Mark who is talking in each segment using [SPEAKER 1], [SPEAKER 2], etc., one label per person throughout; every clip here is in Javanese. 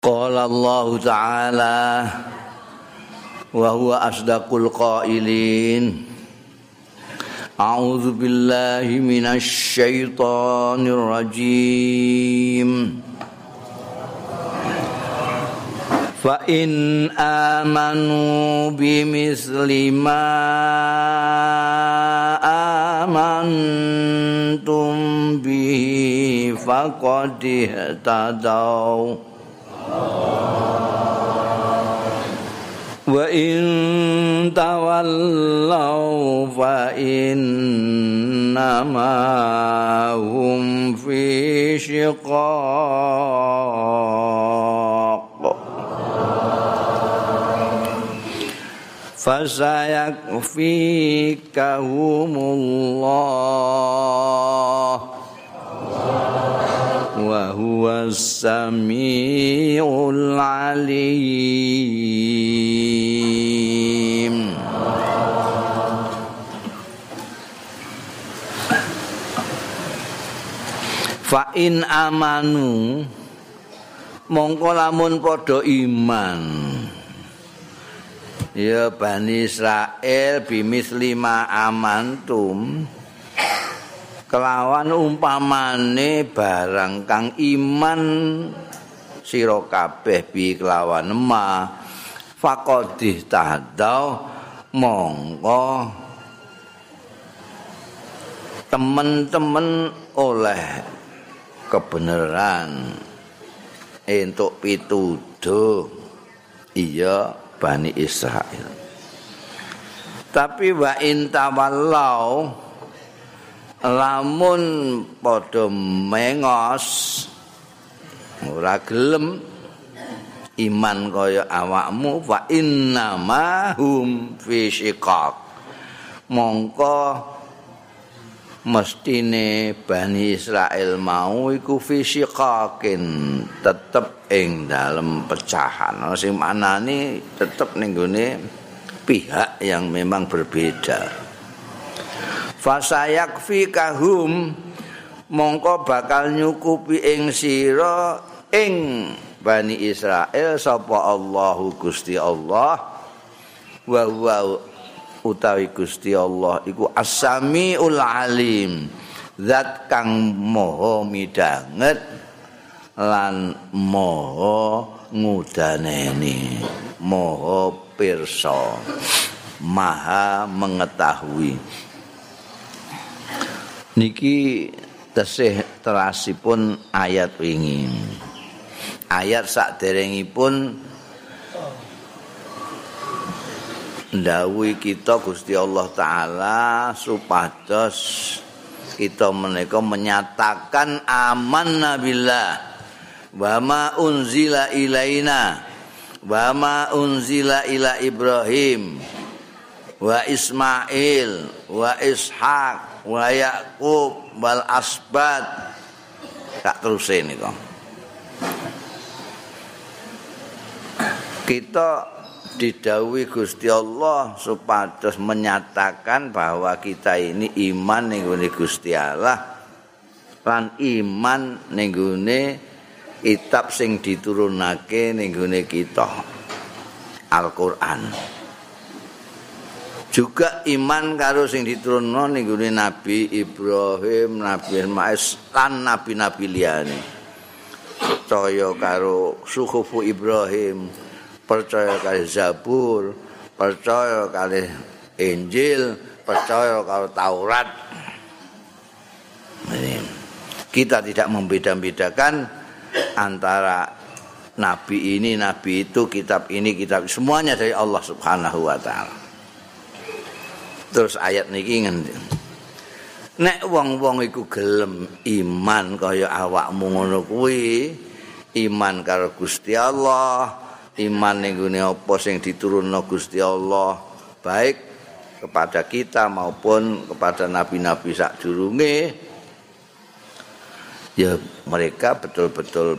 [SPEAKER 1] Qala Allah Ta'ala wa huwa asdaqul qailin. A'udzu billahi minasy syaithanir rajim. Fa in amanu bimithli ma amantum bihi faqad ihtadaw wa in tawallaw fa innama hum fi shiqaq fasayakfikahumullah wa huwas samiul alim. Fa in amanu mongko lamun padha iman ya Bani Israil bimisli ma amantum kelawan umpamane barang kang iman sira kabeh bi kelawan ma faqadih tahdau mongko temen-temen oleh kebenaran entuk pituduh iya Bani Israil. Tapi wa in tawallau lamun padha mengos ora gelem iman kaya awakmu fa innama hum fi shiqaq mongko mestine Bani Israil mau iku fi shiqaqin tetep ing dalem pecahan sing manane tetep ning gone pihak yang memang berbeda. Fasayakfikahum mongko bakal nyukupi ing sira ing Bani Israil sapa Allahu Gusti Allah wa huwa utawi Gusti Allah iku As-Samiul Alim zat kang maha midanget lan maha ngudaneni maha pirsa maha mengetahui. Niki tesih terasipun ayat wingi. Ayat saderengipun ndhawuhi kita Gusti Allah taala supados kita menika menyatakan amanna billah wa ma unzila ilaina wa ma unzila ila Ibrahim wa Ismail wa Ishaq wa Yaqub wal asbat tak teruse nika kita didhawuhi Gusti Allah supados menyatakan bahwa kita ini iman ning gone Gusti Allah lan iman ning gone kitab sing diturunake ning gone kita Al-Qur'an. Juga iman karo sing diturunno ning gone Nabi Ibrahim, Nabi Ismail lan nabi-nabi liyane. Percaya karo suhufu Ibrahim, percaya karo Zabur, percaya karo Injil, percaya karo Taurat. Kita tidak membeda-bedakan antara nabi ini, nabi itu, kitab ini, kitab semuanya dari Allah Subhanahu wa taala. Terus ayat niki ngendi? Nek wong-wong iku gelem iman kaya awakmu ngono kuwi, iman karo Gusti Allah, iman ning gone apa sing diturunno Gusti Allah, baik kepada kita maupun kepada nabi-nabi sadurunge, ya mereka betul-betul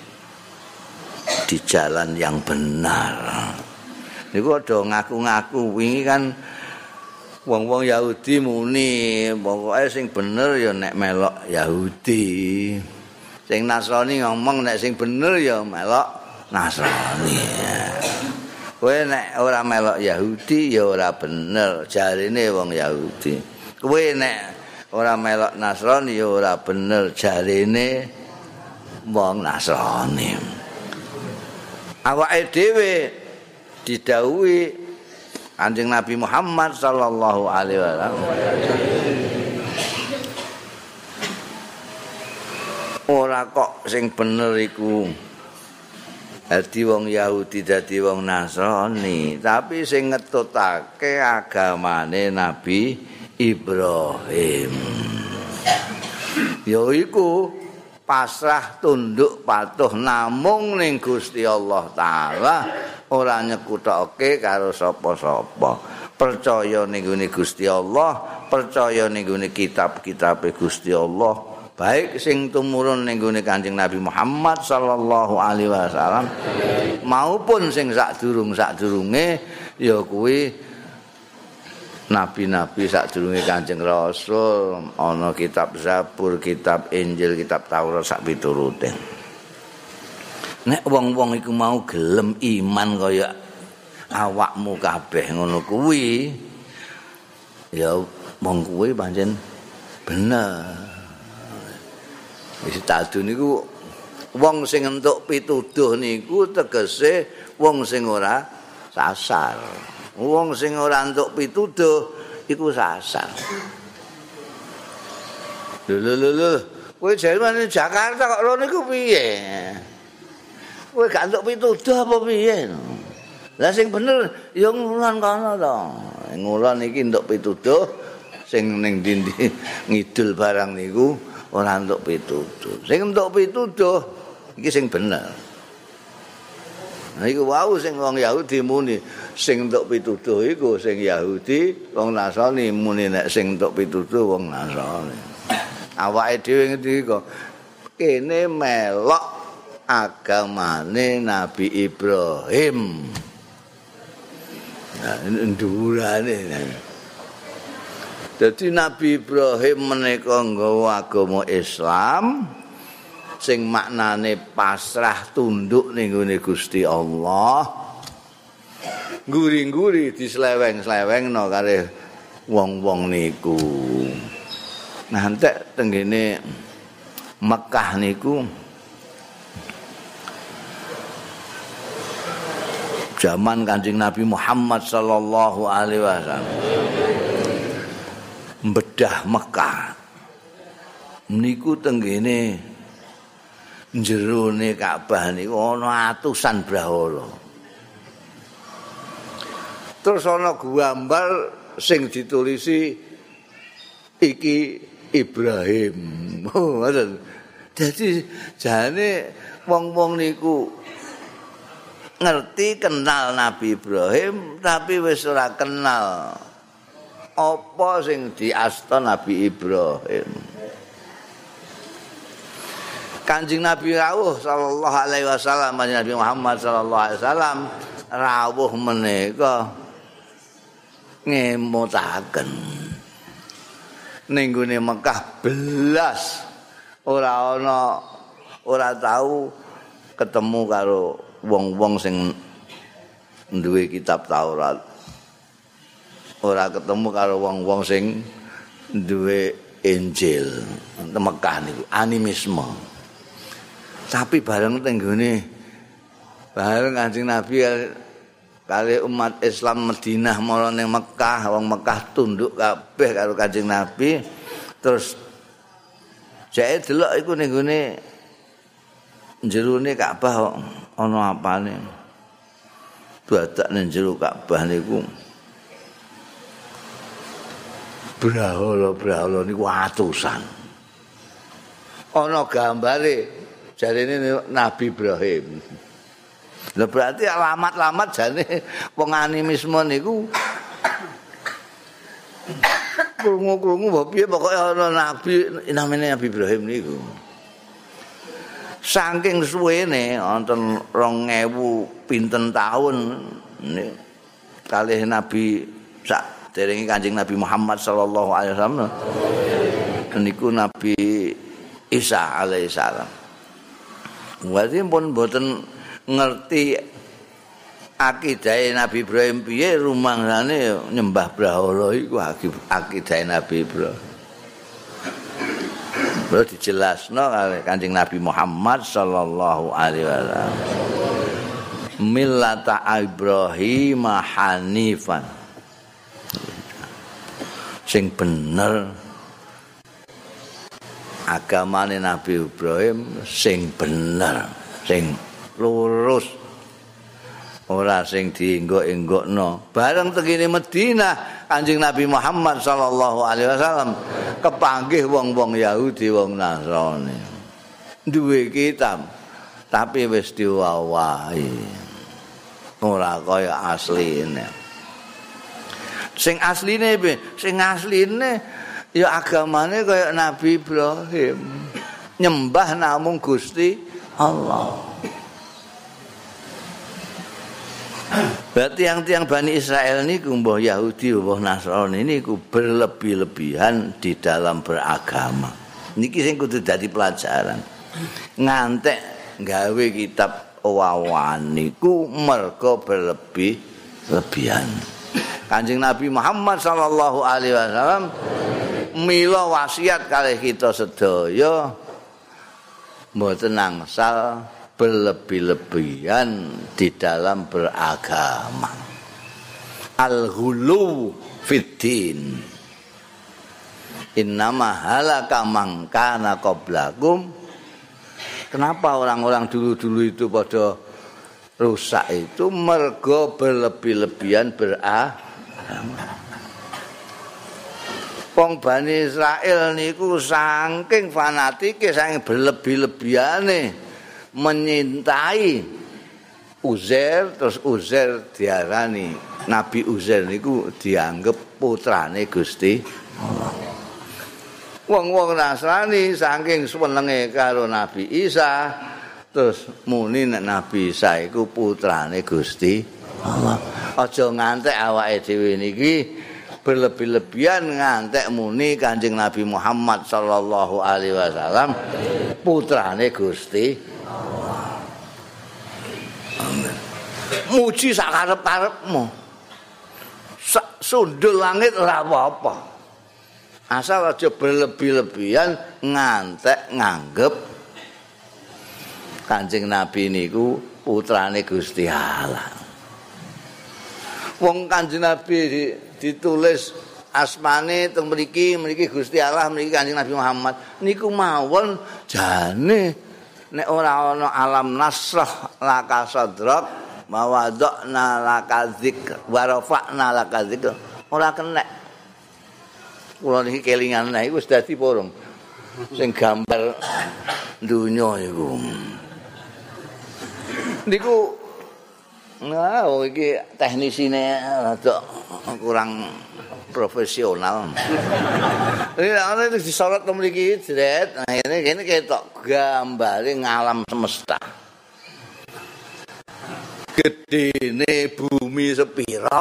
[SPEAKER 1] di jalan yang benar. Niku ada ngaku-ngaku wingi kan wong-wong Yahudi muni pokoke sing bener ya nek melok Yahudi. Sing Nasrani ngomong nek sing bener ya melok Nasrani. Kowe nek ora melok Yahudi ya ora bener, jarine wong Yahudi. Kowe nek ora melok Nasrani ya ora bener, jarine wong Nasrani. Awake dhewe didhawuhi Kanjeng Nabi Muhammad sallallahu alaihi wasallam ora kok sing bener iku dadi wong Yahudi dadi wong Nasrani, tapi sing ngetutake agamane Nabi Ibrahim yaiku pasrah tunduk patuh namung ning Gusti Allah taala, ora nyekutoke karo sapa-sapa. Percaya ning Gusti Allah, percaya ning kitab-kitabe Gusti Allah, baik sing tumurun ning Kanjeng Nabi Muhammad sallallahu alaihi wasallam maupun sing sadurunge ya kuwi nabi-nabi sadurunge Kanjeng Rasul, ana kitab Zabur, kitab Injil, kitab Taurat sak piturute. Nek wong-wong iku mau gelem iman kaya awakmu kabeh ngono kuwi, ya wong kuwi pancen bener. Wis tadu niku wong sing entuk pituduh niku tegese wong sing ora sasar. Wong sing ora entuk pituduh iku sasar. Lho. Kowe jare Jakarta kok rono iku piye? Kowe gak entuk pituduh apa piye? Lah sing bener ya ngulon kono to. Ngulon iki entuk pituduh, sing ning ndi ngidul barang niku ora entuk pituduh. Sing entuk pituduh iki sing bener. Nah iku wau sing wong Yahudi muni sing entuk pituduh iku sing Yahudi, wong Nasrani muni nek sing entuk pituduh wong Nasrani. Awake dhewe ngerti kok kene melok agamane Nabi Ibrahim. Nah, ndurane. Dadi Nabi Ibrahim menika nggawa agama Islam sing maknane pasrah tunduk ning gone Gusti Allah. Guri-guri disleweng-slewengno karo wong-wong niku. Nah, entek tenggene Mekah niku zaman Kanjeng Nabi Muhammad sallallahu alaihi wasallam mbedah Mekah niku tenggene jerone Ka'bah niku ana atusan brahala. Terus ana gambar sing ditulisi iki Ibrahim. Oh, ngoten. Dadi jane wong-wong niku ngerti kenal Nabi Ibrahim tapi wis ora kenal apa sing diasta Nabi Ibrahim. Kanjeng Nabi rawuh sallallahu alaihi wasallam, Nabi Muhammad sallallahu alaihi wasallam rawuh menika ngemutaken ning gone Mekah belas ora tahu ketemu karo wong-wong sing duwe kitab Taurat. Ora ketemu karo wong-wong sing duwe Injil. Mekah niku animisme. Tapi bareng tenggone bareng Kanjeng Nabi kali umat Islam Madinah mara ning Mekah, wong Mekah tunduk kabeh karo Kanjeng Nabi. Terus jake delok iku ning gone jerone Ka'bah ana apane. Dadak ning jero Ka'bah niku brahala niku atusan. Ana gambare jarene Nabi Ibrahim. Lah berarti alamat-alamat jane wong animisme niku krungu-krungu mbok piye pokoke ana nabi namine Nabi Ibrahim niku. Saking suwene wonten 2000 pinten taun kalih Nabi sak derenge Kanjeng Nabi Muhammad sallallahu alaihi wasallam niku Nabi Isa alaihi salam. Berarti pun mboten ngerti akidah Nabi Ibrahim piye rumangsane nyembah brahala iku akidah Nabi Ibrahim. Bro dijelasno kali Kanjeng Nabi Muhammad sallallahu alaihi wasallam. Millata Ibrahim hanifan. Sing bener agamane Nabi Ibrahim sing bener, sing lurus. Ora sing dienggok-enggokno. Bareng tengene Madinah Kanjeng Nabi Muhammad sallallahu alaihi wasallam kepanggih wong-wong Yahudi, wong Nasrani. Duwe kitab tapi wis diwawahi. Ora kaya asline. Sing asline piye? Sing asline ya agamane kaya Nabi Ibrahim. Nyembah namung Gusti Allah. Berarti tiang-tiang Bani Israel niku mbah Yahudi mbah Nasrani niku berlebih-lebihan di dalam beragama. Niki sing kudu dadi pelajaran. Ngantek gawe kitab wawan niku mergo berlebih-lebihan. Kanjeng Nabi Muhammad sallallahu alaihi wasallam mila wasiat kalih kita sedaya mboten angsal berlebih-lebihan di dalam beragama. Al-ghulu fiddin. Innama halaka man kana qablakum. Kenapa orang-orang dulu-dulu itu pada rusak itu mergo berlebih-lebihan beragama. Wong Bani Israel niku saking fanatike, saking berlebih-lebihane menyintai Uzair, terus Uzair diarani Nabi Uzair niku dianggap putrane Gusti Allah. Wong-wong Nasrani saking senenge karo Nabi Isa, terus muni nek Nabi Isa iku putrane Gusti Allah. Aja ngantek awake dhewe niki berlebih-lebihan ngantek muni Kanjeng Nabi Muhammad sallallahu alaihi wasallam putrane Gusti Allah. Amin. Muji sak karep-karepmu. Sundul langit ora apa-apa. Asal aja berlebih-lebihan ngantek nganggep Kanjeng Nabi niku putrane Gusti Allah. Wong Kanjeng Nabi ditulis asmane teng mriki Gusti Allah, mriki Kanjeng Nabi Muhammad niku mawon jane nek ora ana alam nasrah laka sadrak mawadna laka dzikr wa rafa'na laka dzikr ora kenek. Kula niki kelingan niku wis dadi porong sing gambar dunya iku. Niku nah, iki teknisine rada kurang profesional. Ini ana disorot mriki jret. Nah, ini ketok gambare ngalam semesta. Gedene bumi sepira?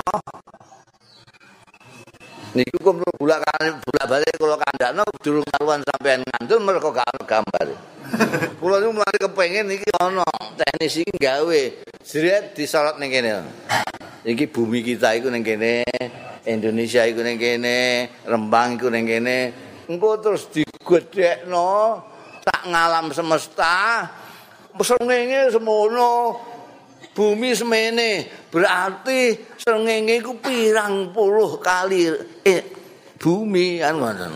[SPEAKER 1] Niku kok bolak-balik kula kandhakno durung karuan sampean ngandel mergo gak ana gambar. Kula niku mulai kepengin iki ana teknis iki gawe jret disorot ning kene. Iki bumi kita iku ning kene, Indonesia iku ning kene, Rembang iku ning kene. Engko terus digedhekno tak ngalam semesta. Srengenge semono. Bumi semene berarti srengenge iku pirang puluh kali bumi kan ngoten.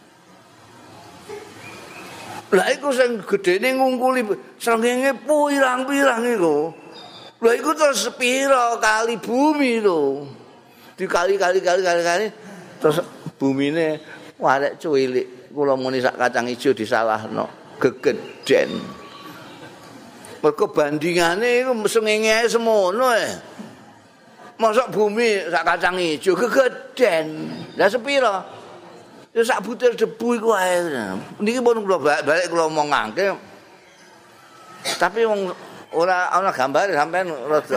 [SPEAKER 1] Lah iku sing gedene ngungkuli srengenge pirang-pirang iku. Lah iku terus sepira kali bumi lho. Dikali-kali terus bumine warek cuwilik. Kula muni sak kacang ijo disalahno gegeden. Mergo bandingane iku srengenge ae semono Mosok bumi sak kacang ijo gegeden. Lah sepira? Ya sak butir debu iku ae. Niki pun kula balik kula omongake. Tapi wong ora ana gambare sampean rada.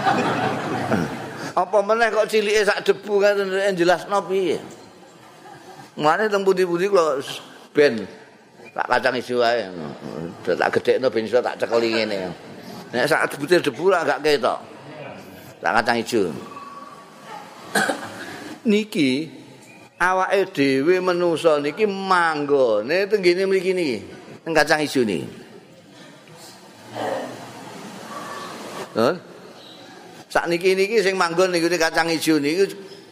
[SPEAKER 1] Apa meneh kok cilike sak debu kan jelasno piye? Mulane teng pundi-pundi kula ben tak kacang ijo wae. Tak gedhekno ben iso tak cekeli ngene. Nek sak butir debu ra gak ketok. Sak kacang ijo. Niki awake dhewe menungso niki manggone tenggene mriki niki, teng kacang ijo niki. Sakniki niki sing manggon niku kacang ijo niku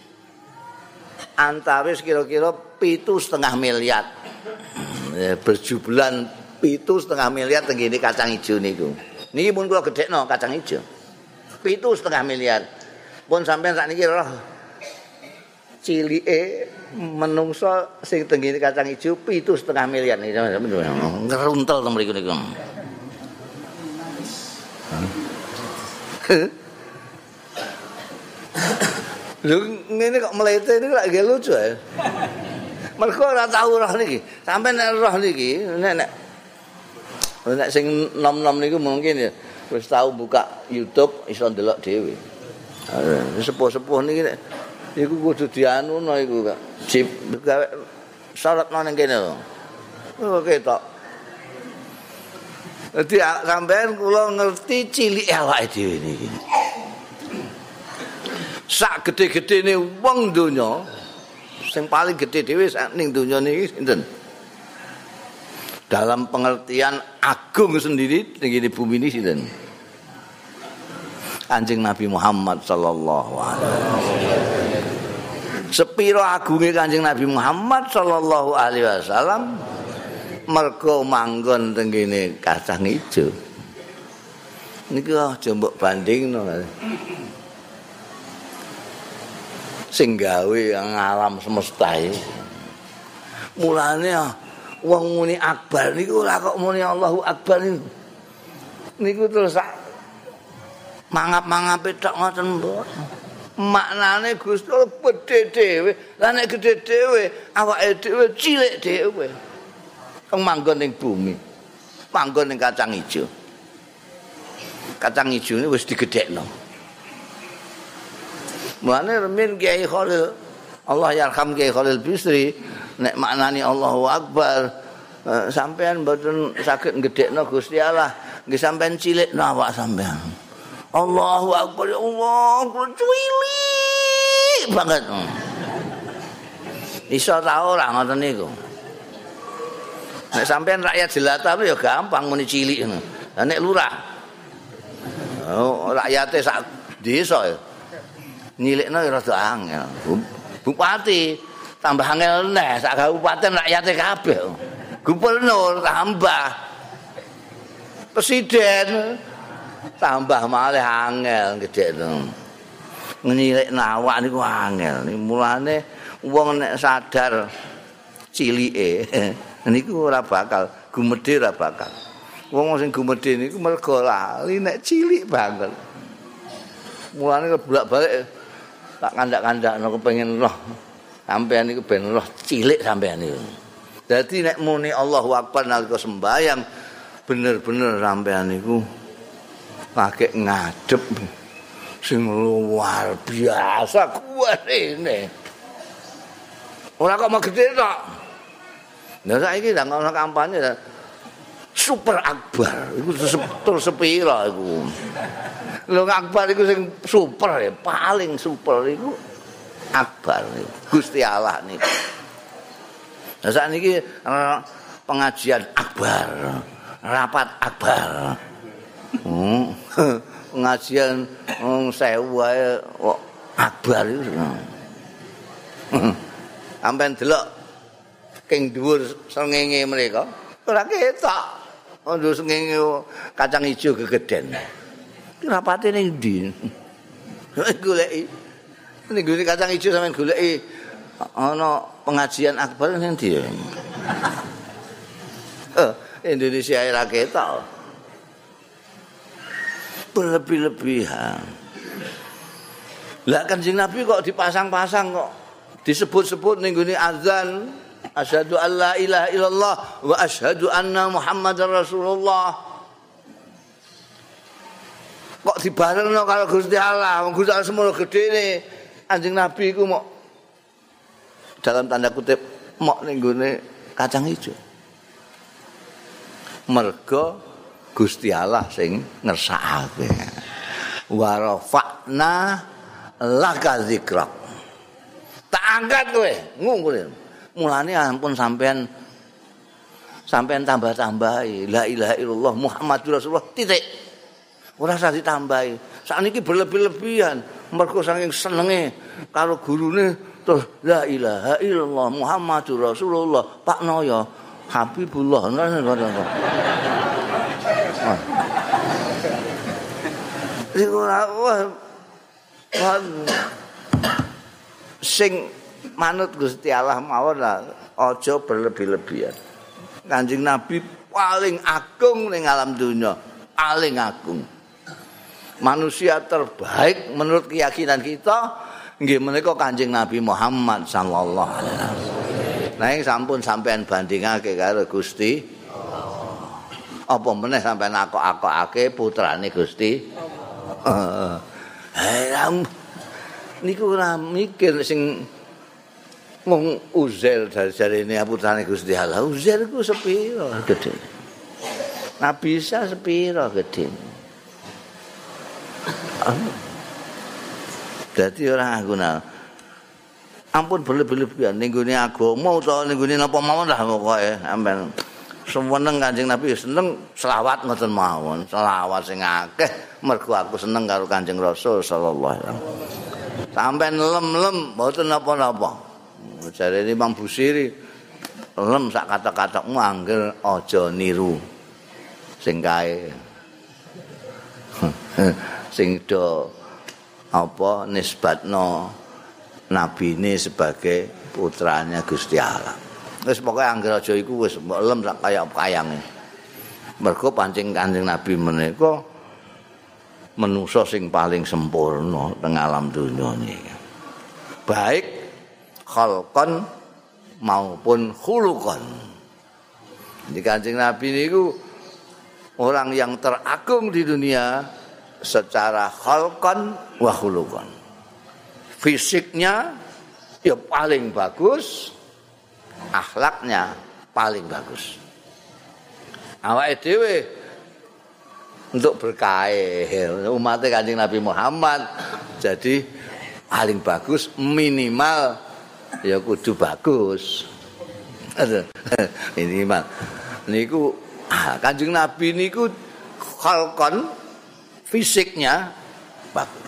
[SPEAKER 1] antawis kira-kira 7,5 miliar. Berjubulan 7,5 miliar tenggene kacang ijo niku. Niki pun kula gedhekno kacang ijo. 7,5 miliar. Pun sampean sakniki roh cilike menungso sing tenggene kacang ijo 7,5 miliar niki ngeruntel teng mriku niku. Lho ngene kok mlete niku lak nggih lucu ya. Mergo ora tau roh niki. Sampeyan nek roh niki nek sing nom-nom niku mungkin ya wis tau buka YouTube iso ndelok dhewe. Sepuh-sepuh niki nek iku kudu dianuno iku Kak. Jip gawe sorotno ning kene lho. Oh ketok. Dadi sampeyan kula ngerti cilike awake dhewe niki. Sak gede-gedene wong donya sing paling gede dhewe ning donya niki sinten? Dalam pengertian agung sendiri ning bumi ini sinten? Kanjeng Nabi Muhammad sallallahu alaihi wasallam. Sepiro agunge Kanjeng Nabi Muhammad sallallahu alaihi wasallam mergo manggon teng kene kacang ijo. Niku aja mbok bandingno. Sing gawe alam semesta iki. Mulane wong muni akbar niku ora kok muni Allahu Akbar niku. Niku terus mangap-mangape tok ngoten mboten. Maknane Gusti Allah gedhe dhewe. Lah nek gedhe dhewe awake dhewe cilik dhewe. Kang manggon ning bumi. Manggon ning kacang ijo. Kacang ijo ini wis digedhekno. Mulane remen Kiai Khalil Allah yarham Kiai Khalil Bisri nek maknani Allahu Akbar sampean mboten saged nggedhekno Gusti Allah nggih sampean cilikno awak sampean Allahu Akbar ya Allah cilik banget iso ta ora ngoten niku nek sampean rakyat jelata ya gampang muni cilik ngono lah nek lurah rakyate sak desa ya nyilikno ya rada angel. Bupati tambah angel neh sak kabupaten rakyate kabeh. Gubernur tambah. Presiden tambah malih angel gedhekno. Nyilikno awak niku angel. Mulane wong nek sadar cilike niku ora bakal gumedhe ora bakal. Wong sing gumedhe niku mergo lali nek cilik banget. Mulane bolak-balik tak kandak-kandakno kepengin roh sampean niku ben roh cilik sampean niku. Dadi nek muni Allahu Akbar nalika sembayang bener-bener sampean niku lagi ngadep sing luar biasa kuwatene. Ora kok megede tok. Lah saiki ndang ana kampanye Super Akbar iku terus sepira iku. Lho Akbar iku sing super ya, paling super iku Akbar Gusti Allah niku. Lah sakniki pengajian Akbar, rapat Akbar. Pengajian sewu wae kok Akbar iku. Sampeyan delok king dhuwur srengenge mereka ora ketok. Ondo srengenge kacang ijo gegeden. Rapate ning ndi? Goleki. Ning gone kacang ijo sampean goleki ana pengajian Akbar ning ndi? Indonesia ora ketok. Berlebih-lebihan. Lah Kanjeng Nabi kok dipasang-pasang kok disebut-sebut ning gone azan asyhadu alla ilaha illallah wa asyhadu anna Muhammadar Rasulullah. Kok dibarengno karo Gusti Allah, Gusti Allah semono gedene Kanjeng Nabi iku mok dalam tanda kutip mok ning gone kacang ijo. Mergo Gusti Allah sing ngersakake. Wa rafa'na laka dzikrak. Tak angkat kowe, ngungkul. Mulane ampun sampean tambah-tambahi la ilaha illallah Muhammadur Rasulullah titik. Ora usah ditambahi. Sakniki berlebih-lebihan mergo saking senenge karo gurune terus la ilaha illallah Muhammadur Rasulullah Pak Noyo Habibullah. Sing manut Gusti Allah mawon lah aja berlebih-lebihan. Kanjeng Nabi paling agung ning alam dunia, paling agung. Manusia terbaik menurut keyakinan kita nggih menika Kanjeng Nabi Muhammad sallallahu alaihi wasallam. Nah sampun sampean bandingake karo Gusti apa meneh sampean akok-akokake putrane Gusti niku ora mikir sing wong Uzair jarene putrane Gusti Allah. Uzair ku sepiro gedhe. Nabi Isa sepiro gedhe. Dadi ora guna. Ampun berlebih-lebihan ning gone agama utawa ning gone napa mawon lah pokoke sampean seneng Kanjeng Nabi seneng selawat ngoten mawon. Selawat sing akeh mergo aku seneng karo Kanjeng Rasul sallallahu alaihi wasallam. Sampeyan lem-lem mboten napa-napa. Jarene Imam Busiri lem sak kata-katamu angger aja niru sing kae. Sing do apa nisbatno nabine sebagai putranya Gusti Allah. Wis pokoke angger aja iku wis mbok lem sak kaya kayange. Mergo pancing Kanjeng Nabi menika manusa sing paling sempurna teng alam donya niki. Baik khalqan maupun khuluqan. Di Kanjeng Nabi niku orang yang teragung di dunia secara khalqan wa khuluqan. Fisiknya ya paling bagus, akhlaknya paling bagus. Awake dhewe untuk berkah umat Kanjeng Nabi Muhammad jadi paling bagus minimal ya kudu bagus. Minimal niku Kanjeng Nabi niku khalqan fisiknya bagus.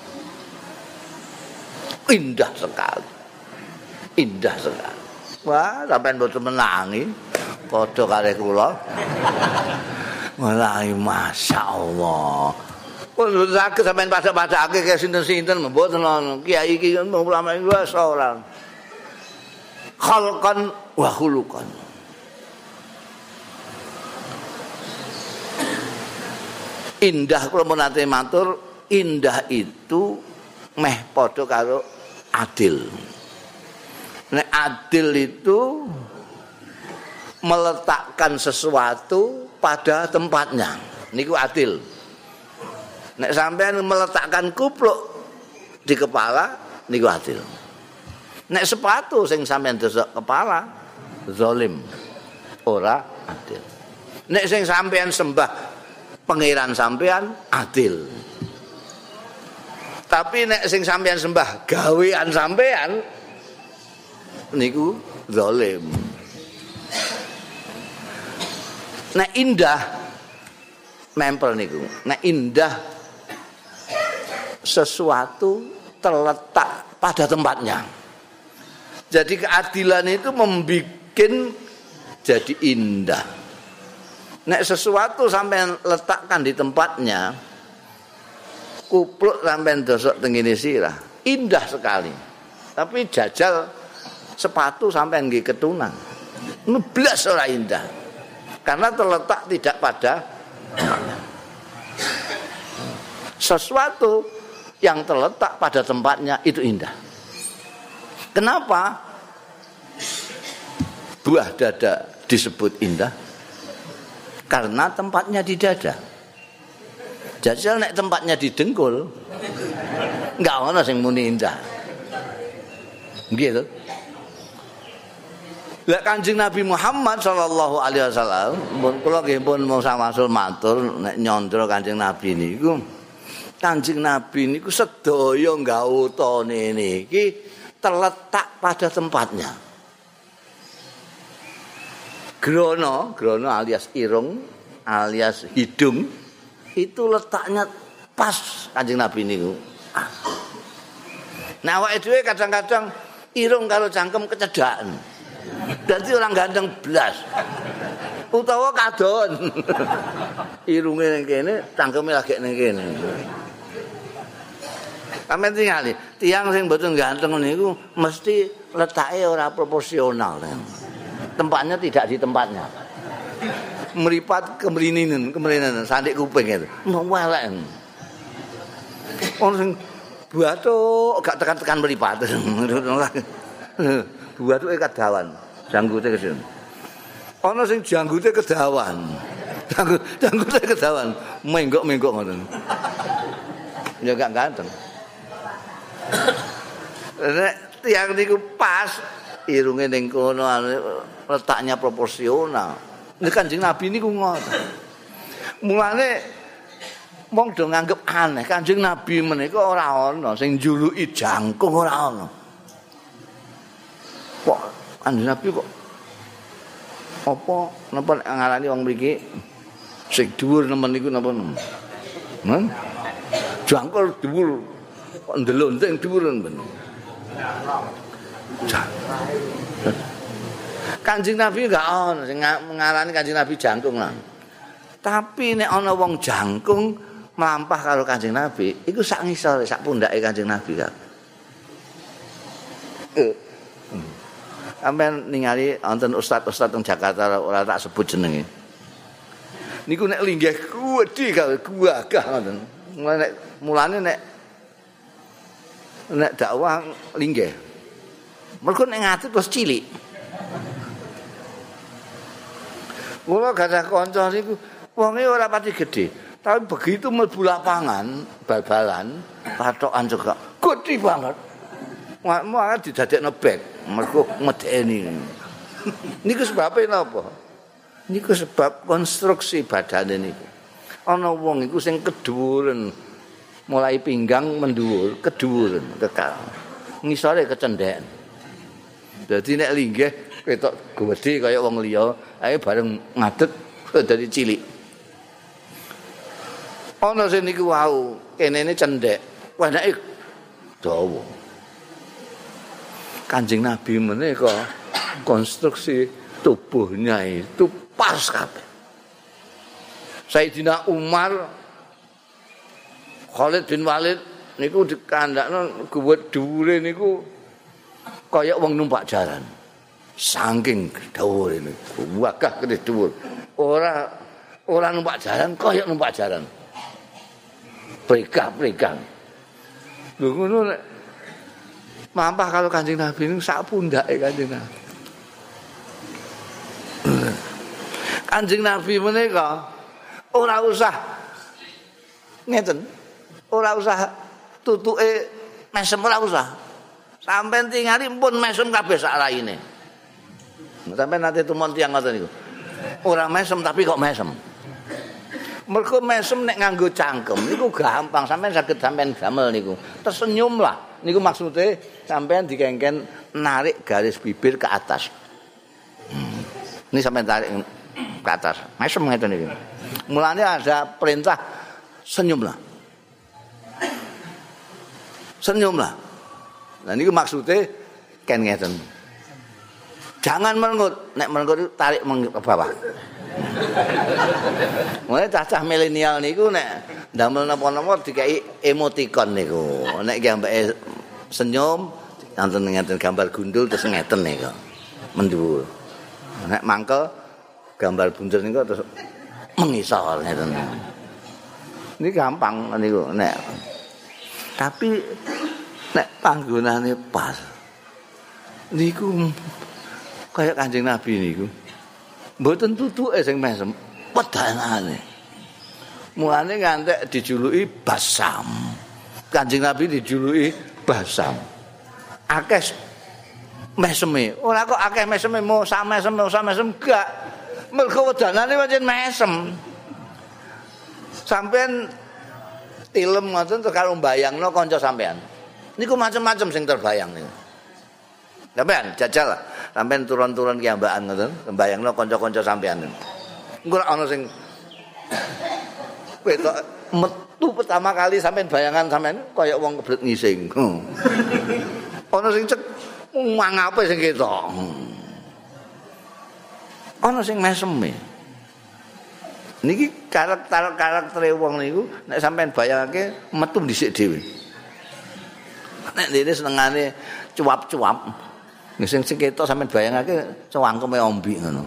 [SPEAKER 1] Indah sekali. Indah sekali. Wah, sampean mboten menangi padha karo kula. Wallahi masyaallah. Pun saged sampean padha-padhake ke sinten-sinten mboten ana. Kiai iki ulama iki wis ora. Khalqan wa khuluqan. Indah kula mun nate matur, indah itu meh padha karo adil. Nek adil itu meletakkan sesuatu pada tempatnya. Niku adil. Nek sampean meletakkan kupluk di kepala niku adil. Nek sepatu sing sampean desok kepala zalim. Ora adil. Nek sing sampean sembah pangeran sampean adil. Tapi nek sing sampean sembah gawean sampean niku zalim. Nek indah mempel niku. Nek indah sesuatu terletak pada tempatnya. Jadi keadilan itu membikin jadi indah. Nek sesuatu sampean letakkan di tempatnya, kupluk sampean dosok tengene sirah, indah sekali. Tapi jajal sepatu sampean nggih ketunan. Blas ora indah. Karena terletak tidak pada sesuatu yang terletak pada tempatnya itu indah. Kenapa buah dada disebut indah? Karena tempatnya di dada. Jajal nek tempatnya di dengkul, enggak ana sing muni indah. Nggih to? Lah Kanjeng Nabi Muhammad sallallahu alaihi wasallam, mun kula nggih pun mau samasul matur nek nyandra Kanjeng Nabi niku. Kanjeng Nabi niku sedaya gawutane niki terletak pada tempatnya. Grono alias irung, alias hidung itu letaknya pas Kanjeng Nabi niku. Nah awake dhewe kadang-kadang irung karo cangkem kecedhakan. Dadi orang ganteng blas. Utawa kadon. Irunge ning kene, cangkeme lagi ning kene. Sampeyan tingali, tiyang sing mboten ganteng niku mesti letake ora proporsional. Tempatnya tidak di tempatnya. Meripat kemrinin, sandik kuping itu. Mau elek. Ono sing buatuk gak tekan-tekan meripat. Buatuke kedawan, janggute kesini. Ono sing janggute kedawan. Janggute kedawan, menggok-menggok ngoten. Ya gak ganteng. Nek tiyang niku pas irunge ning kono letaknya proporsional. Nek Kanjeng Nabi niku ngoten. Mulane wong do nganggep aneh, Kanjeng Nabi menika ora ana sing njuluki jangkung ora ana. Kok Kanjeng Nabi kok apa napa ngarani wong mriki sing dhuwur nemen niku napa nemen? Jangkul dhuwur kok ndelonting dhuwur men. Kanjeng Nabi enggak ana sing ngarani Kanjeng Nabi jangkung lah. Tapi nek ana wong jangkung mlampah karo Kanjeng Nabi, iku sak ngisore, sak pundhake Kanjeng Nabi kan. Sampeyan ningali wonten ustaz-ustaz teng Jakarta ora tak sebut jenenge. Niku nek linggih kuwedi gawe gagah ngoten. Mulane nek dakwah linggih. Mergo nek ngatur terus cilik. Kula gadah kanca niku wonge ora pati gedhe, tapi begitu mlebu lapangan bal-balan, patokan juga gedhe banget. Malah didadekno bek, mergo medeni. Niku sebabe napa? Niku sebab konstruksi badane niku. Ana wong iku sing kedhuwuren, mulai pinggang mendhuwur, kedhuwuren kekal. Ngisore kecendheken. Dadi nek linggih ketok gedhe kaya wong liya, ae bareng ngadeg dadi cilik. Ana sing niku wau, kenene cendhek, wanake dawa. Kanjeng Nabi menika konstruksi tubuhnya itu pas kabeh. Sayyidina Umar Khalid bin Walid niku dikandakno guwet dhuwure niku kaya wong numpak jaran. Saking dhuwure niku, wagah gede dhuwur. Ora numpak jaran kaya numpak jaran. Pregah-pregah. Lho ngono nek mampah kalau Kanjeng Nabi niku sak pundhake Kanjeng Nabi. Kanjeng Nabi menika ora usah ngeten. Ora usah tutuke mesem ora usah. Sampeyan tingali pun mesem kabeh sak raine. Sampeyan nate tumon tiyang ngoten niku. Ora mesem tapi kok mesem. Mergo mesem nek nganggo cangkem niku gampang, sampeyan saged sampeyan damel niku. Tersenyum lah. Niku maksude sampeyan dikengken narik garis bibir ke atas. Ini sampeyan tarik ke atas. Mesem ngeten iki. Mulane ada perintah senyumlah. Senyumlah. Nah niku maksude ken ngeten. Jangan merengut, nek merengut tarik ke bawah. Mulane cacah milenial niku nek ndamel napa-napa dikai emoticon niku. Nek ki ambeke senyum wonten ngeten gambar gundul terus ngeten niku. Mendhuwur. Nek mangkel gambar bunder niku terus mengisor ngeten. Ini gampang niku nek. Tapi nek panggonane pas niku kaya Kanjeng Nabi niku. Mboten tutuke sing mesem, wedanane. Mulane ngantek dijuluki Basam. Kanjeng Nabi dijuluki Basam. Akeh meseme. Ora kok akeh meseme mau sak mesem gak. Mergo wedanane pancen mesem. Sampeyan tilem ngoten terus karo mbayangno kanca sampean. Niku macam-macam sing terbayang niku. Sampean jajal lah. Sampean turun-turun kiambakan ngoten, mbayangno kanca-kanca sampean. Engko ana sing ketok metu pertama kali sampean bayangan sampean kaya wong kebelet ngising. Ana sing cek mangape sing ketok. Ana sing meseme. Niki karakter wong niku nek sampean bayangake metu dhisik dhewe. Nek dene senengane cuap-cuap. Sing ketok sampean bayangake cangkeme ombi ngono.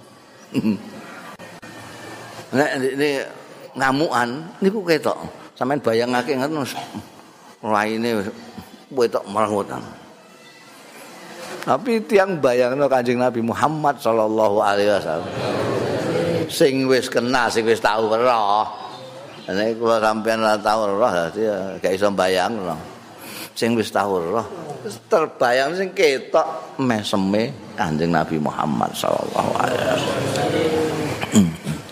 [SPEAKER 1] Nek ini ngamukan niku ketok. Sampeyan bayangake ngono raine wetok merengutan. Tapi tiang bayangno Kanjeng Nabi Muhammad sallallahu alaihi wasallam. Sing wis kena, sing wis tau weruh. Nek kula sampeyan ora tau weruh dadi gak iso bayangno. Sing wis tau weruh terbayang sing ketok meseme Kanjeng Nabi Muhammad sallallahu alaihi wasallam.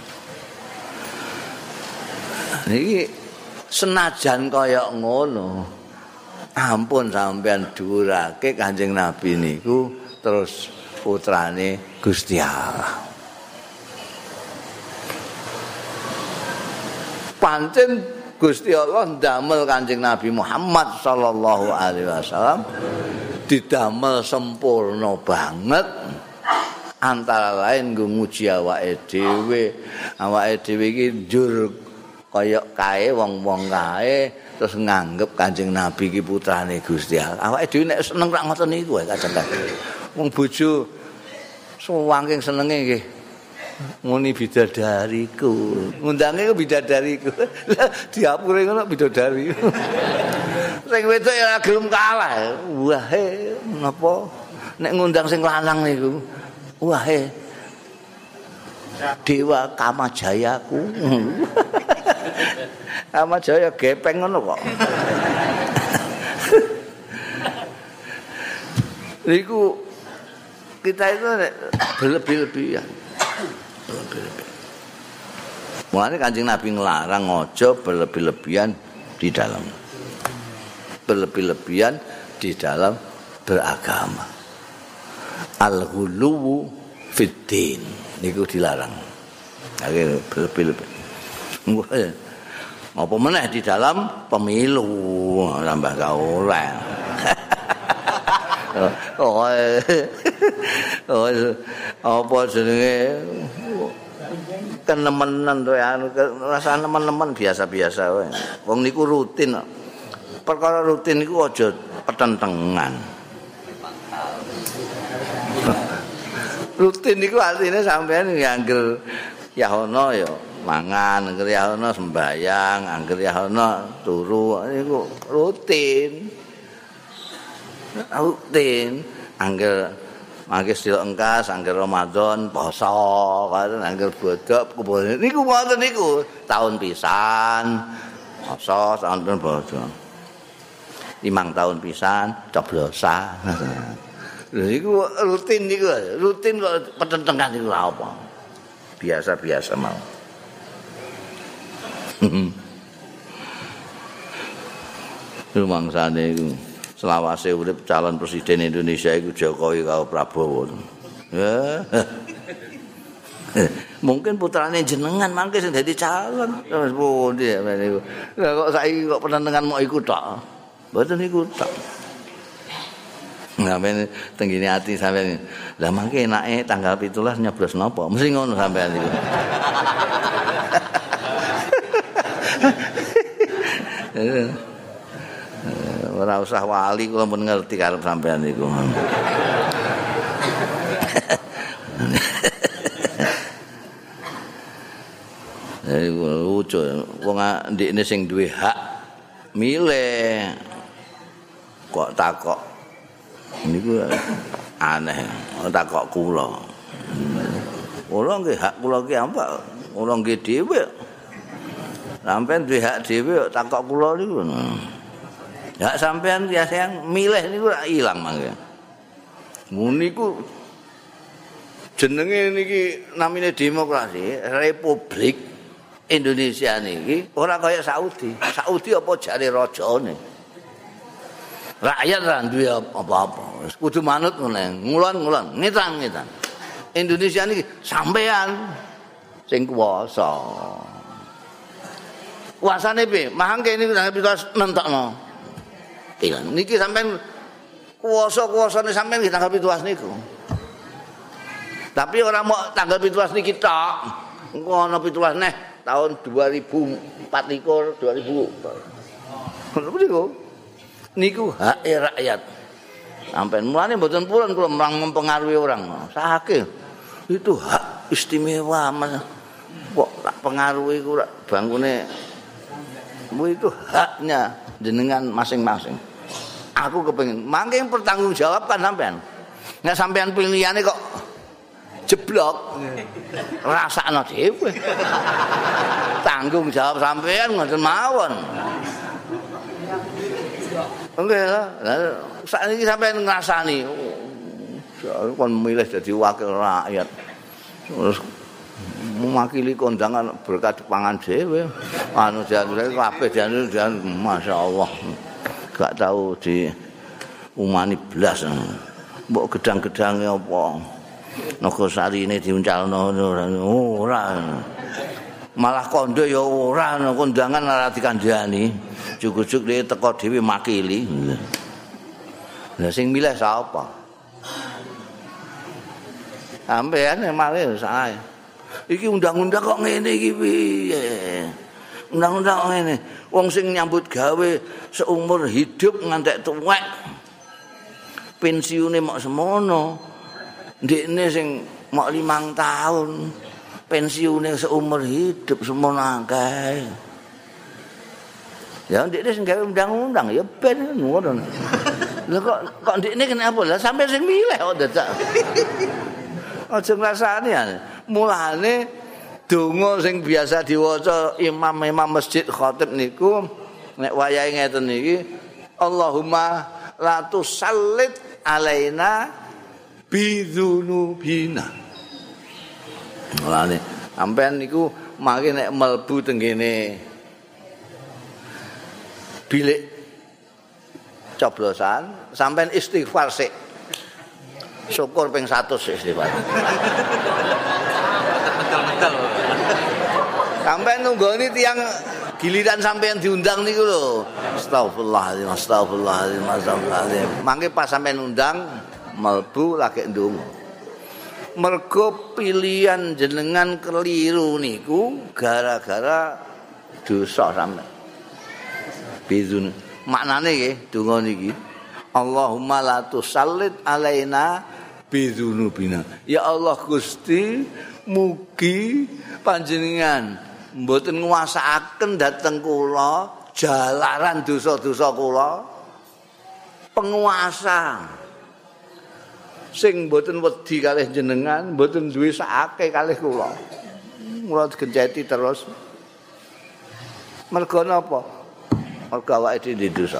[SPEAKER 1] Niki senajan kaya ngono ampun sampean dhuwurake Kanjeng Nabi niku terus putrane Gusti Allah. Pancen Gusti Allah ndamel Kanjeng Nabi Muhammad sallallahu alaihi wasallam didamel sempurna banget. Antara lain nggo muji awake dhewe. Awake dhewe iki njur kaya kae wong-wong kae terus nganggep Kanjeng Nabi iki putrane Gusti Allah. Awake dhewe nek seneng rak ngoten niku wae kadang-kadang. Wong bojo saking senenge nggih muni bidadariku. Ngundange ku bidadariku. Lah diapure ngono bidadari. Sing wedok ya gelem kalah. Wae napa nek ngundang sing lanang niku. Wae Dewa Kamajayaku. Kamajaya gepeng ngono kok. Niku kita itu berlebih-lebihan. Mulane Kanjeng Nabi ngelarang aja berlebih-lebihan di dalam beragama. Al-ghuluwu fiddin niku dilarang. Akhire berlebih-lebih. Apa meneh di dalam pemilu tambah gak oleh. Apa jenenge kenemenan to anu rasa nemen-nemen biasa-biasa wae. Wong niku rutin. Perkara rutin niku aja petentengan. Rutin niku artine sampean ngangger ya ono ya mangan, angger ya ono sembayang, angger ya ono turu niku rutin. Rutin angger mangke sedina engkas angger Ramadan poso karo angger bodhok kebone niku wonten niku tahun pisan poso tahun poso 5 tahun pisan coblosan. Lha iku rutin kok petentengan niku apa? Biasa-biasa mau. Rumangsane iku selawase urip calon presiden Indonesia iku Jokowi karo Prabowo. Ya. Mungkin putrane jenengan mangke sing dadi calon. Wis pundi niku. Lah kok saiki kok penentengan mok iku tok. Mboten niku tok. Sampeyan tenggine ati sampeyan. Lah mangke enake tanggal 17 nyoblos napa? Mesti ngono sampeyan niku. Ora usah wali kula pun ngerti karep sampean niku. Lucu wong ndekne sing duwe hak milih kok takok niku aneh takok kula. Kula nggih hak kula ki apa? Kula nggih dhewe. Sampeyan duwe hak dhewe takok kula niku. Hak sampean ya sayang milih niku ora ilang mangke. Niku jenenge niki namine demokrasi, Republik Indonesia niki ora kaya Saudi. Saudi apa jare rajane. Rakyat ra duwe apa-apa. Kudu manut ngene, ngulon-ngulon, ngitan-ngitan. Indonesia niki sampean sing kuwasa. Kuasane piye? Mangke niku pitulas nentokno. Iya, niki sampean kuwasa-kuwasane sampean nggih tanggal 17 niku. Tapi ora mau tanggal 17 niki tok. Engko ana 17 neh tahun 2024 2000. Ngono niku. Niku hak rakyat. Sampeyan mulane mboten purun kula mempengaruhi orang. Sakit. Itu hak istimewa Mas. Kok tak pengaruhi ku bangkune. Itu haknya jenengan masing-masing. Aku kepengin mangke pertanggungjawabkan sampean. Nek sampean pilihane kok jeblok. Rasakno dhewe. Tanggung jawab sampean ngoten mawon. Nggih lah. Saiki sampean ngrasani kon milih dadi wakil rakyat. Terus mewakili kondangan berkat pangan dhewe. Anu jane kabeh jan masyaallah. Gak tahu di umani blas. Mbok gedang-gedange apa. Nogosarine diuncalno ora. Malah kondo ya ora kondangan ora dikandhani. Jujuk-juk dhewe teko dhewe makili. Lah sing milih sapa? Sampeyan malah sae. Iki undang-undang kok ngene iki piye? Undang-undang kok ngene. Wong sing nyambut gawe seumur hidup ngantek tuwek. Pensiune mok semono. Ndekne sing mok 5 tahun. Pensiune seumur hidup semono akeh. Ya ndekne sing gawe undang-undang ya ben ngono. Lah kok ndekne kenapa? Lah sampe sing milih kok dadak. Aja ngrasani ya. Mulane donga sing biasa diwaca imam-imam masjid khatib niku nek wayahe ngeten iki Allahumma la tusallit alaina bidzunubina. Mulane sampean niku mangke nek mlebu teng kene bilik coblosan sampean istighfar sik. Syukur ping 100 istighfar. Betul-betul. Sampean nunggoni tiyang giliran sampean diundang niku lho. Astagfirullahaladzim, astagfirullahaladzim, astagfirullahaladzim. Mangke pas sampean undang mlebu lagi ndonga. Mergo pilihan jenengan keliru niku gara-gara dosa sampean. Bizun. Maknane nggih donga niki. Allahumma la tusallit alaina bidzunubina. Ya Allah Gusti, mugi panjenengan mboten nguasakaken dhateng kula jalaran dosa-dosa kula. Penguasa sing mboten wedi kalih jenengan, mboten duwe sakake kalih kula. Mula digenceti terus. Mergo napa? Mergo awake dhewe dosa.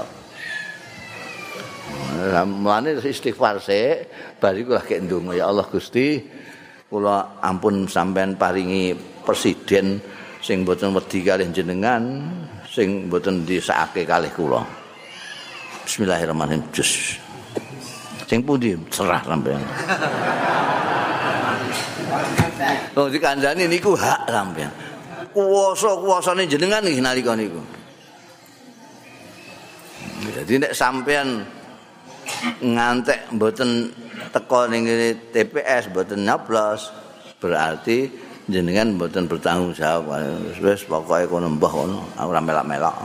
[SPEAKER 1] Mulane istighfar sik, bariku lagi ndonga ya Allah Gusti, kula ampun sampean paringi presiden sing mboten wedi kalih jenengan, sing mboten disakake kalih kula. Bismillahirrahmanirrahim. Jus. Sing pundi serah sampean. Oh dikandani niku hak sampean. Kuwasa-kuwasane jenengan nggih nalika niku. Jadi nek sampean ngantek mboten teko ning TPS mboten nyoblos berarti jenengan mboten bertanggung jawab. Wis pokoke kono mbah kono ora melak-melak.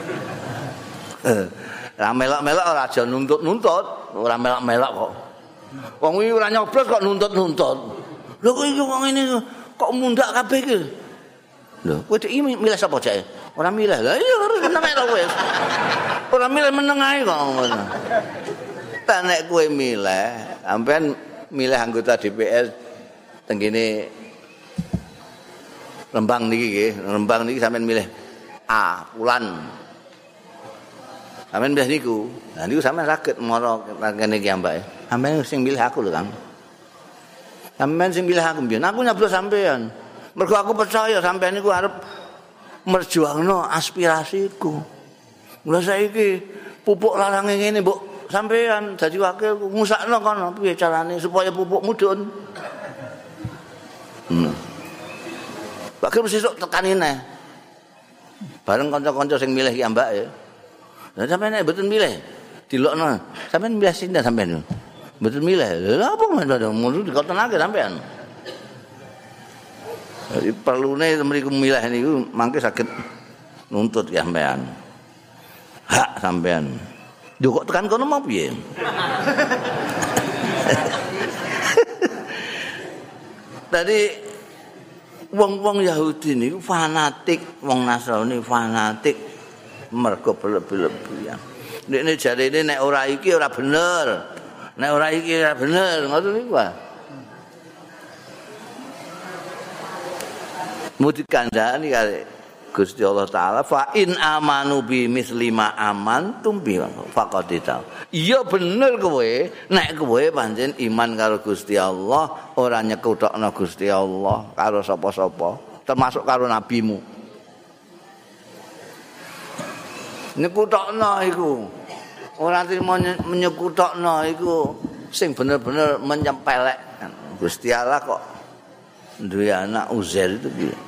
[SPEAKER 1] Ora melak-melak ora aja nuntut-nuntut, ora melak-melak kok. Wong iki ora nyoblos kok nuntut-nuntut. Lho kok iki wong ngene kok mundak kabeh iki. Lho, kowe iki milih sapa jake? Ora milih. Lah iya meneng ae wis. Ora milih meneng ae kok ngono. Tak nek kowe milih, sampean milih anggota DPR teng kene Rembang niki nggih, Rembang niki sampean milih A, Pulan. Sampeyan milih niku. Lah niku sampeyan saged mara kene iki ambake. Sampeyan sing milih aku lho, Kang. Sampeyan sing milih aku mbiyen. Aku nyoblos sampeyan. Mergo aku percaya sampeyan niku arep merjuangno aspirasiku. Lha saiki pupuk larange ngene mbok sampeyan dadi wakil ngusakno kono piye carane supaya pupuk mudhun. Wakil mesti sok tekani neh. Bareng kanca-kanca sing milih ki ambake. Lah sampeyan nek mboten milih, dilokno. Sampeyan milih sinten sampeyan? Mboten milih. Lha apa ngono dikotonake sampeyan? Jadi perlune mriku milih niku mangke saged nuntut ya sampean. Hak sampean. Lho kok tekan kono mau piye? Tadi wong-wong Yahudi niku fanatik, wong Nasrani fanatik mergo berlebihan. Nek jarene nek ora iki ora bener. Nek ora iki ora bener, ngoten niku wae. Muti kandhani kali Gusti Allah taala fa in amanu bi misli ma amantum bi faqadita. Iya bener kowe nek kowe pancen iman karo Gusti Allah ora nyekutokno Gusti Allah karo sapa-sapa termasuk karo nabimu. Nyekutokno iku ora trimo menyekutokno iku sing bener-bener menyempelek. Gusti Allah kok duwe anak Uzair itu piye?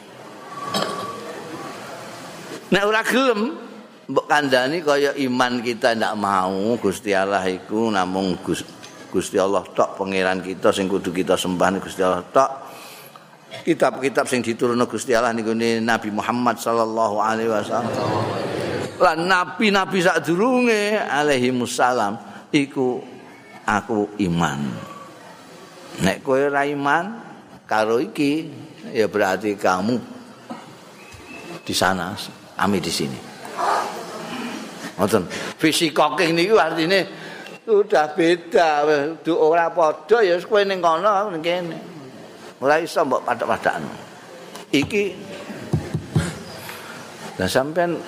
[SPEAKER 1] Nek ora gelem mbok kandhani kaya iman kita ndak mau Gusti Allah iku namung Gusti Allah tok pangeran kita sing kudu kita sembah Gusti Allah tok. Kitab-kitab sing diturunno Gusti Allah niku Nabi Muhammad sallallahu alaihi wasallam. Lan nabi-nabi sadurunge alaihi musallam iku aku iman. Nek kowe ora iman karo iki ya berarti kamu di sana, kami di sini. Ngoten. Fisikoking niku artine udah beda, ora padha ya kowe ning kono ning kene. Ora iso mbok pathak-pathakno. Iki lah sampean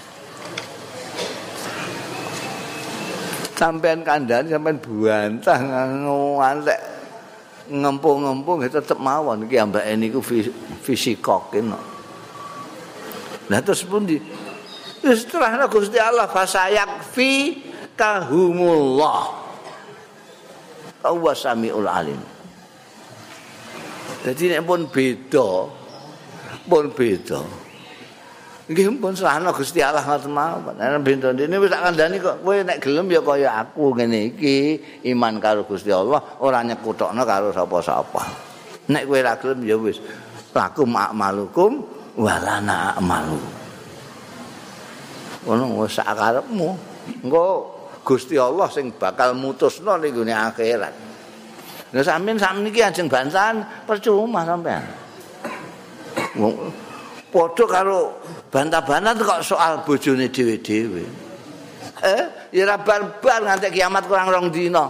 [SPEAKER 1] kandhani sampean buantah ngantek ngempung-ngempung tetep mawon iki ambake niku fisikoking. Nah terus pundi? Setelahna Gusti Allah fasayakfi kahumullah. Wa samiul alim. Jadi nek pun beda. Nggih pun serahna Gusti Allah ngoten mawon. Nek beda dene wis tak kandhani kok kowe nek gelem ya kaya aku ngene iki iman karo Gusti Allah ora nyekutokno karo sapa-sapa. Nek kowe ora gelem ya wis lakum a'malukum walana amalu. Ono wis sak karepmu. Engko Gusti Allah sing bakal mutusno ning gone akhirat. Lah sampeyan sakniki ajeng bantahan percuma sampean. Wong padha karo bantah-bantah kok soal bojone dhewe-dhewe. Ya ora bar-bar nganti kiamat kurang 2 dina.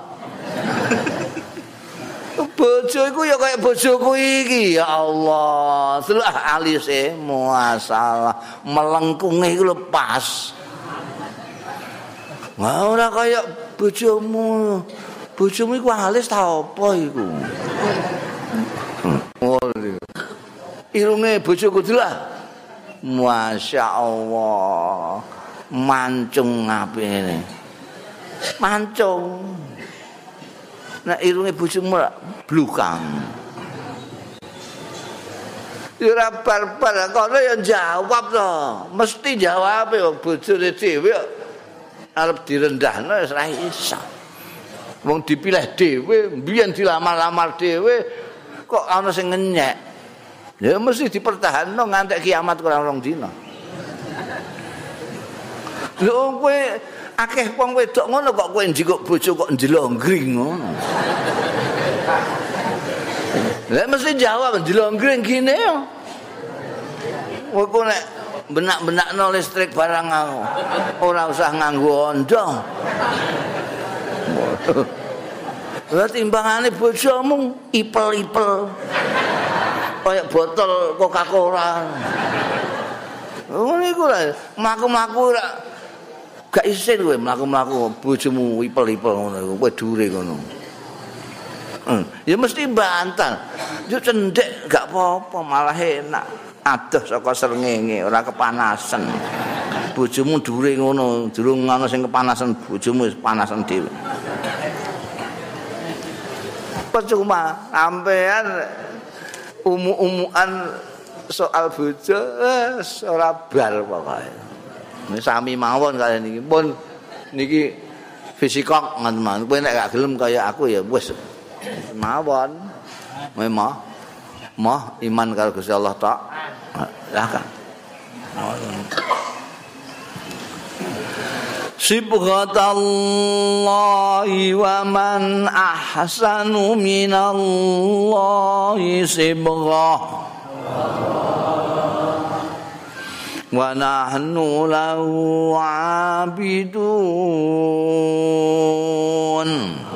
[SPEAKER 1] Bojo iku ya kaya bojoku iki ya Allah. Delok alise masalah melengkunge iku lho pas. Wah ora kaya bojomu. Bojomu iku alis ta apa iku? Irunge bojoku delok. Masya Allah. Mancung apene. Mancung. Nek irunge bojomu blukang. Ya ora bar-bar kono ya jawab to. Mesti jawabe bojone dhewe arep direndahno wis ora iso. Wong dipilih dhewe, mbiyen dilamar-lamar dhewe kok ana sing ngenyek. Ya mesti dipertahanno nganti kiamat kurang 2 dina. Lho kowe akeh wong wedok ngono kok kowe njikuk bojo kok njlonggring ngono. Lah mesti jawab njlonggring gini yo. Kowe nek benak-benakno listrik barang aku. Ora usah nganggo ondo. Lah timbangane bojomu ipel-ipel. Kayak botol Coca-Cola. Oh niku lho, mlaku-mlaku Gak isin kowe mlaku-mlaku bojomu ipel-ipel ngono iku, kowe dure ngono. Ya mesti bantah. Yo cendhek gak apa-apa, malah enak. Adoh saka srengenge, ora kepanasan. Bojomu dure ngono, durung ana sing kepanasan, bojomu wis panasan dhewe. Percuma sampean umu-umuan soal bojo ora bar pokoke. Sami mawon kalian niki pun niki fisikok ngoten. Kowe nek gak gelem kaya aku ya wis mawon. Mah iman karo Gusti Allah tok. Lah kan. Sibghatallahi wa man ahsanu minallahi sibghah. Wa nahnu lahu 'abidun.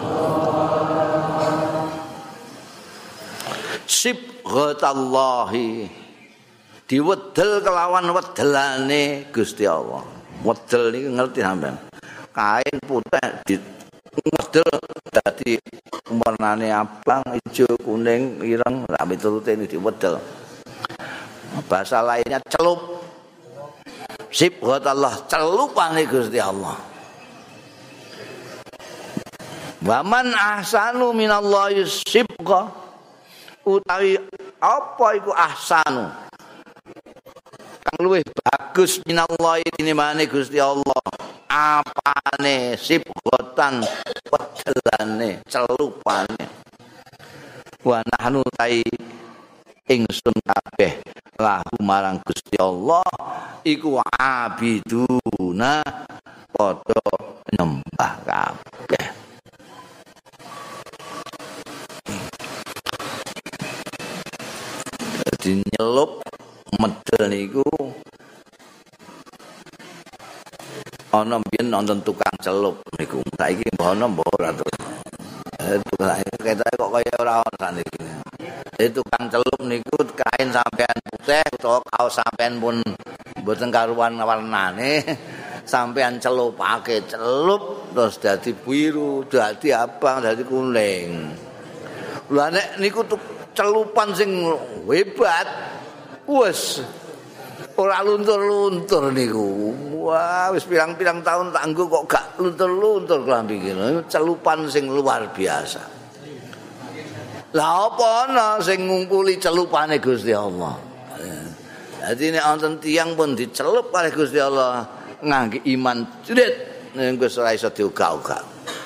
[SPEAKER 1] Sibghatallahi diwedel kelawan wedelane Gusti Allah. Wedel iki ngerti sampean. Kain putih diwedel dadi warnane abang, ijo, kuning, ireng, sak miturute diwedel. Bahasa lainnya celup. Sibghatallah, celupane Gusti Allah. Wa man ahsanu minallahi sibghah. Utawi apa iku ahsanu? Kang luwih bagus minallahi tinimbane Gusti Allah. Apane sibghatan wedelane, celupane. Wa nahnu tai ingsun kabeh lahu marang Gusti Allah iku abiduna padha nyembah kabeh. Dadi nyelup medel niku ana mbiyen nonton tukang celup niku. Saiki mbah ana mbah ora to. Ketoke kok kaya ora ana saniki. Tukang celup niku kain sampean putih utawa kaos sampean pun mboten karuan warnane, sampean celupake celup terus dadi biru, dadi abang, dadi kuning. Lah nek niku celupan sing hebat, wes ora luntur-luntur niku. Wah, wis pirang-pirang tahun tak nggo kok gak luntur-luntur klambi iki. Celupan sing luar biasa. Lah apa ana sing ngungkuli celupane Gusti Allah. Dadi nek wonten tiyang pun dicelup oleh Gusti Allah ngangge iman jedit nek wis ora iso diuga-uga.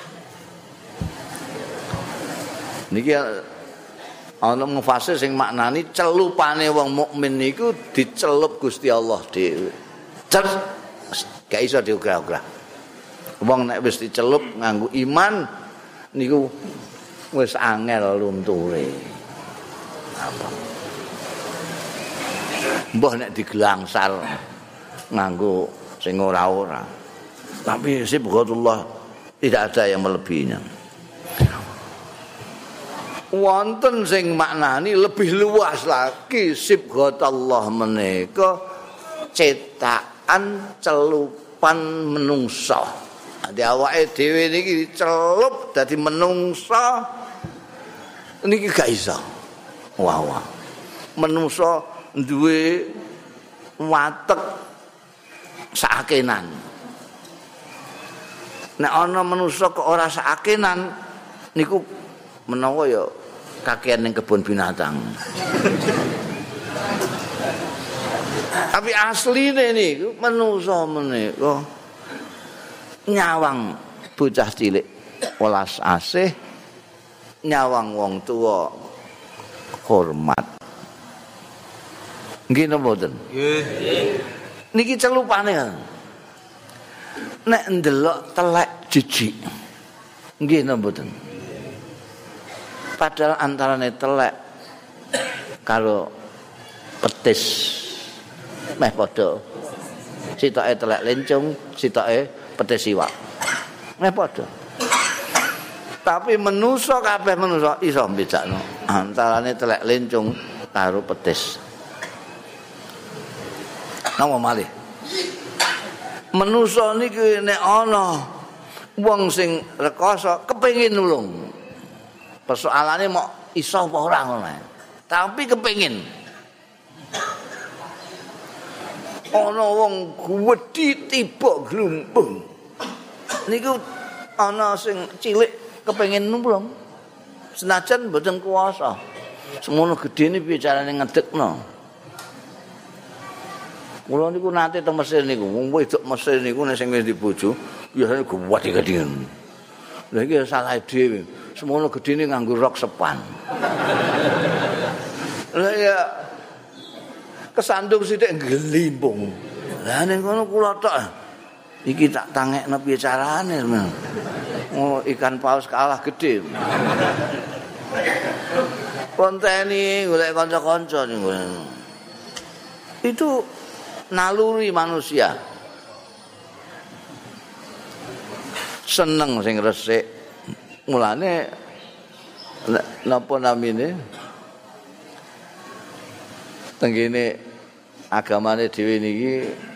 [SPEAKER 1] Niki ana mufasir sing maknani celupane wong mukmin niku dicelup Gusti Allah dhewe. Gak iso diuga-uga. Wong nek wis dicelup nganggo iman niku wis angel lunture. Apa? Mbah nek digelangsar nganggo sing ora-ora. Tapi sibghatullah tidak ada yang melebihinya. Wonten sing maknani lebih luas lagi sibghatullah menika cetakan celupan menungso. Di awake dhewe niki dicelup dadi menungso niki gak iso. Wah. Menungso duwe watek sakenan. Nek ana menungso kok ora sakenan niku menawa ya kakean ning kebun binatang. Tapi asline niku menungso menika nyawang bocah cilik welas asih, nyawang wong tua hormat. Nggih napa mboten? Nggih. Niki celupane. Nek ndelok telek jijik. Nggih napa mboten? Padahal antarane telek karo petis meh padha. Sitoke telek lencung, sitoke petis iwak. Meh padha. Tapi manusa kabeh manusa iso mbedakno antarane telek lencung karo petis. Napa malih? Manusa niki nek ana wong sing rekoso kepengin nulung. Persoalane mok iso apa ora ngono. Tapi kepengin. Ana wong gedhi tiba glumpung. Niku ana sing cilik kepengin nulung. Senajan mboten kuwasa. Semono gedene piye carane ngedekno. Kula niku nate teng Mesir niku, wong wedok Mesir niku nek sing wis dibojo, biasane gede-gede. Lah iki salah dhewe. Semono gedene nganggo rok sepan. Lah ya kesandung sithik ngelimpung. Lah ning kono kula tok. Iki tak tangekno piye carane. Oh, ikan paus kalah gede. Konteni golek kanca-kanca niku. Itu naluri manusia. Seneng sing resik. Mulane napa namine? Tenggene agamane dhewe niki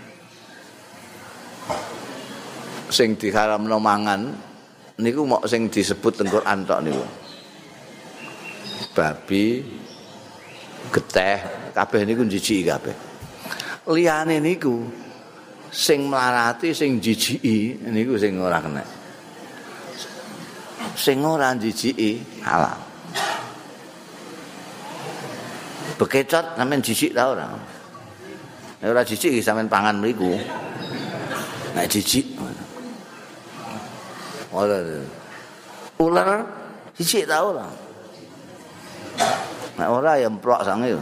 [SPEAKER 1] sing diharamno mangan niku mok sing disebut teng Quran tok niku. Babi, geteh, kabeh niku njijiki kabeh. Liyane niku sing mlarati sing jijiki niku sing ora kena. Sing ora jijiki halal. Bekecot sampean jijik ta ora? Nek ora jijik sampean pangan mriku. Nek jijik. Ora. Ular jijik ta ora? Nek ora ya mplok sange.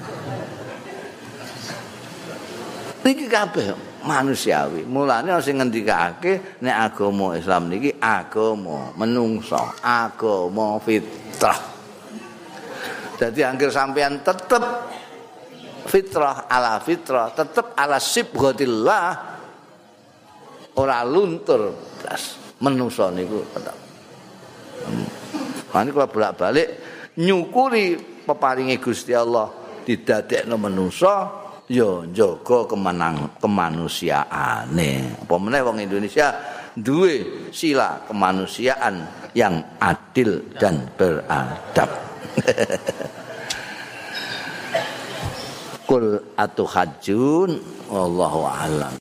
[SPEAKER 1] Niki kabeh manusiawi. Mulane sing ngendikake nek agama Islam niki agama menungso, agama fitrah. Jadi anggere sampean tetep fitrah ala fitrah, tetep ala sibghatillah ora luntur blas. Menungso niku tetep. Mane kula bolak-balik nyukuri peparinge Gusti Allah didadekno menungso ya njaga kemanusiaane. Apa meneh wong Indonesia duwe sila kemanusiaan yang adil dan beradab. Qul atuhajjun wallahu a'lam.